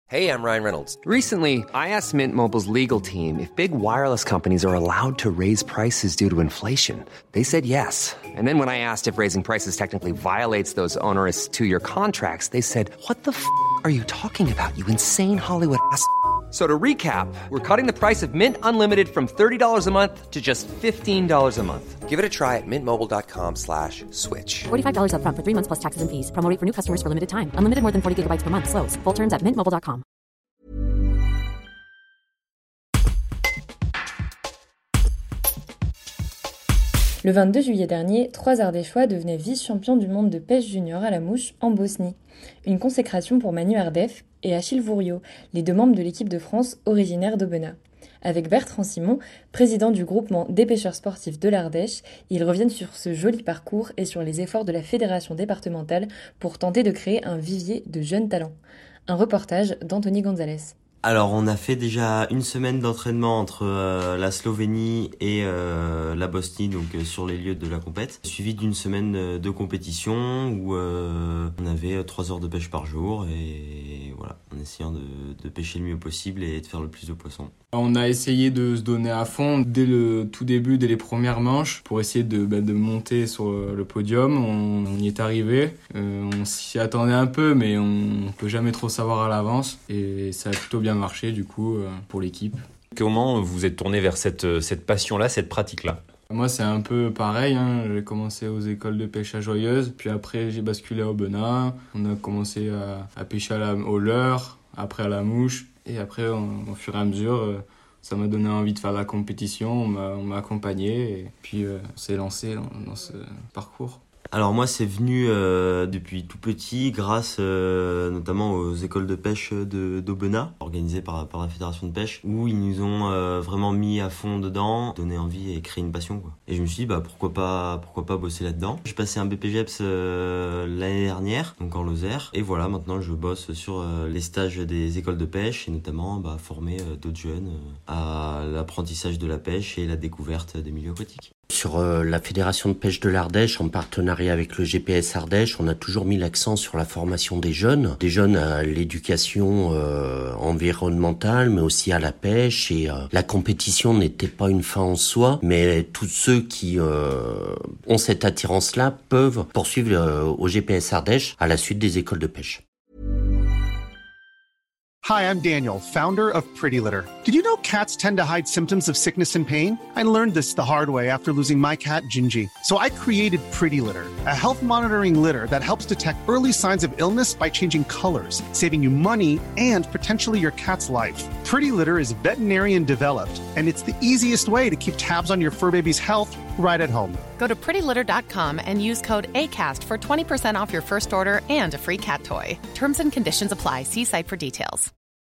Hey, I'm Ryan Reynolds. Recently, I asked Mint Mobile's legal team if big wireless companies are allowed to raise prices due to inflation. They said yes. And then when I asked if raising prices technically violates those onerous two-year contracts, they said, "What the f*** are you talking about, you insane Hollywood ass?" So to recap, we're cutting the price of Mint Unlimited from $30 a month to just $15 a month. Give it a try at mintmobile.com/switch. $45 up front for 3 months plus taxes and fees. Promo rate for new customers for limited time. Unlimited more than 40 gigabytes per month. Slows full terms at mintmobile.com. Le 22 juillet dernier, 3 Ardéchois devenaient vice-champions du monde de pêche junior à la mouche en Bosnie. Une consécration pour Manu Ardef et Achille Vouriot, les 2 membres de l'équipe de France originaires d'Aubenas. Avec Bertrand Simon, président du groupement des pêcheurs sportifs de l'Ardèche, ils reviennent sur ce joli parcours et sur les efforts de la fédération départementale pour tenter de créer un vivier de jeunes talents. Un reportage d'Anthony Gonzalez. Alors on a fait déjà une semaine d'entraînement entre la Slovénie et la Bosnie, donc sur les lieux de la compète, suivi d'une semaine de compétition où on avait 3 heures de pêche par jour et voilà, en essayant de pêcher le mieux possible et de faire le plus de poissons. On a essayé de se donner à fond dès le tout début, dès les premières manches, pour essayer de monter sur le podium. On y est arrivé, on s'y attendait un peu, mais on peut jamais trop savoir à l'avance et ça a plutôt bien marché du coup pour l'équipe. Comment vous êtes tourné vers cette passion-là, cette pratique-là ? Moi c'est un peu pareil, j'ai commencé aux écoles de pêche à Joyeuse, puis après j'ai basculé à Aubenas, on a commencé à pêcher au leurre, après à la mouche, et après au fur et à mesure ça m'a donné envie de faire la compétition, on m'a accompagné et puis on s'est lancé dans ce parcours. Alors moi c'est venu depuis tout petit grâce notamment aux écoles de pêche d'Aubenas organisées par la fédération de pêche où ils nous ont vraiment mis à fond dedans, donné envie et créé une passion quoi. Et je me suis dit pourquoi pas bosser là-dedans. J'ai passé un BPGEPS l'année dernière donc en Lozère et voilà maintenant je bosse sur les stages des écoles de pêche et notamment former d'autres jeunes à l'apprentissage de la pêche et la découverte des milieux aquatiques. Sur la Fédération de pêche de l'Ardèche, en partenariat avec le GPS Ardèche, on a toujours mis l'accent sur la formation des jeunes à l'éducation environnementale, mais aussi à la pêche. Et la compétition n'était pas une fin en soi, mais tous ceux qui ont cette attirance-là peuvent poursuivre au GPS Ardèche à la suite des écoles de pêche. Hi, I'm Daniel, founder of Pretty Litter. Did you know cats tend to hide symptoms of sickness and pain? I learned this the hard way after losing my cat, Gingy. So I created Pretty Litter, a health monitoring litter that helps detect early signs of illness by changing colors, saving you money and potentially your cat's life. Pretty Litter is veterinarian developed, and it's the easiest way to keep tabs on your fur baby's health right at home. Go to prettylitter.com and use code ACAST for 20% off your first order and a free cat toy. Terms and conditions apply. See site for details.